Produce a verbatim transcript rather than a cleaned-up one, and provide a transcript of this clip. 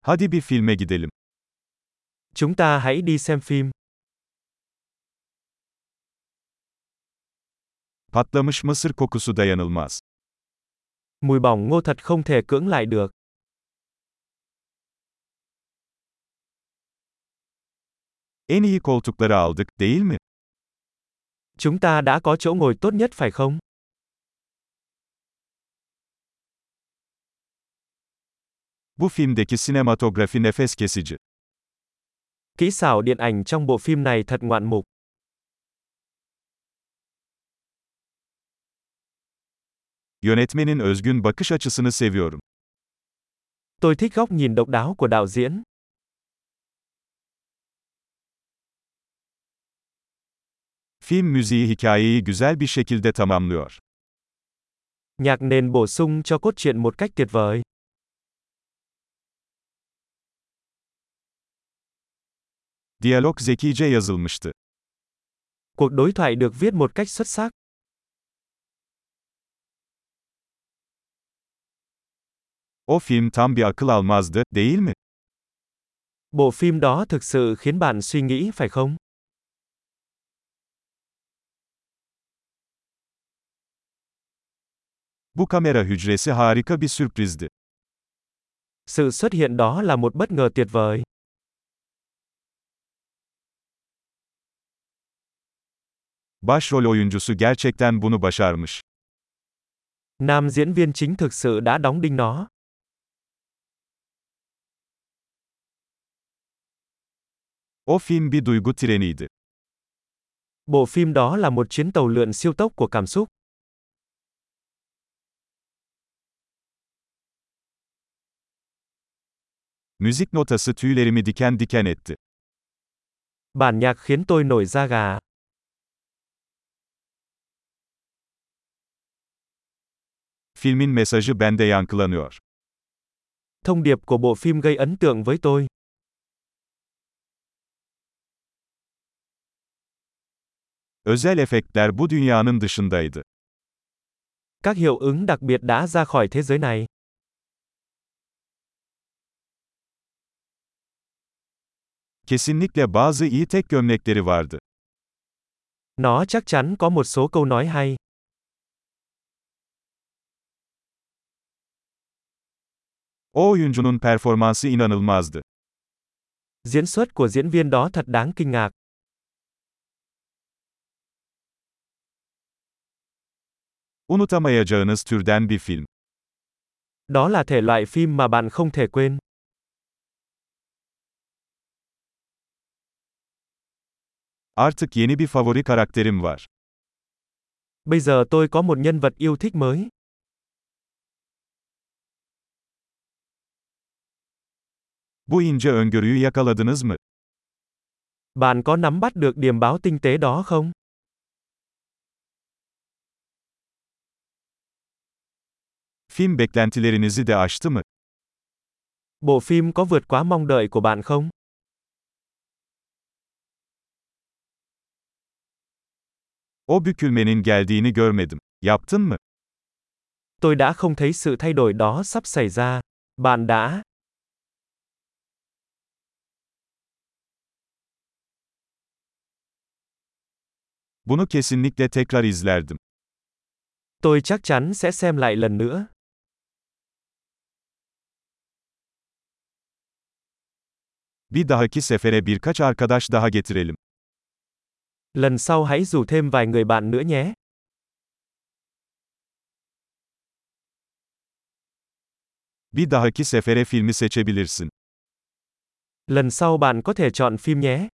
Hadi bir filme gidelim. Chúng ta hãy đi xem phim. Patlamış mısır kokusu dayanılmaz. Mùi bỏng ngô thật không thể cưỡng lại được. En iyi koltukları aldık, değil mi? Chúng ta đã có chỗ ngồi tốt nhất phải không? Bu filmdeki sinematografi nefes kesici. Kỹ xảo điện ảnh trong bộ phim này thật ngoạn mục. Yönetmenin özgün bakış açısını seviyorum. Tôi thích góc nhìn độc đáo của đạo diễn. Film müziği hikayeyi güzel bir şekilde tamamlıyor. Nhạc nền bổ sung cho cốt truyện một cách tuyệt vời. Diyalog zekice yazılmıştı. Cuộc đối thoại được viết một cách xuất sắc. O film tam bir akıl almazdı, değil mi? Bộ phim đó thực sự khiến bạn suy nghĩ phải không? Bu kamera hücresi harika bir sürprizdi. Sự xuất hiện đó là một bất ngờ tuyệt vời. Başrol oyuncusu gerçekten bunu başarmış. Nam diễn viên chính thực sự đã đóng đinh nó. O film bir duygu treniydi. Bộ phim đó là một chuyến tàu lượn siêu tốc của cảm xúc. Müzik notası tüylerimi diken diken etti. Bản nhạc khiến tôi nổi da gà. Filmin mesajı bende yankılanıyor. Thông điệp của bộ phim gây ấn tượng với tôi. Özel efektler bu dünyanın dışındaydı. Các hiệu ứng đặc biệt đã ra khỏi thế giới này. Kesinlikle bazı iyi tek gömlekleri vardı. Nó chắc chắn có một số câu nói hay. O oyuncunun performansı inanılmazdı. Diễn xuất của diễn viên đó thật đáng kinh ngạc. Unutamayacağınız türden bir film. Đó là thể loại phim mà bạn không thể quên. Artık yeni bir favori karakterim var. Bây giờ tôi có một nhân vật yêu thích mới. Bu ince öngörüyü yakaladınız mı? Bạn có nắm bắt được điểm báo tinh tế đó không? Film beklentilerinizi de aştı mı? Bộ phim có vượt quá mong đợi của bạn không? O bükülmenin geldiğini görmedim. Yaptın mı? Tôi đã không thấy sự thay đổi đó sắp xảy ra. Bạn đã? Bunu kesinlikle tekrar izlerdim. Tôi chắc chắn sẽ xem lại lần nữa. Bir dahaki sefere birkaç arkadaş daha getirelim. Lần sau hãy rủ thêm vài người bạn nữa nhé. Bir dahaki sefere filmi seçebilirsin. Lần sau bạn có thể chọn phim nhé.